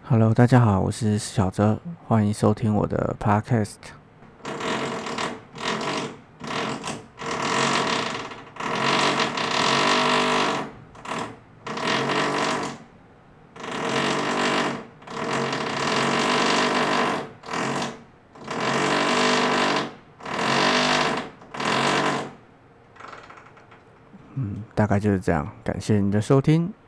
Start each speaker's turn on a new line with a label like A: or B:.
A: Hello，大家好，我是小哲，欢迎收听我的 Podcast。大概就是这样，感谢你的收听。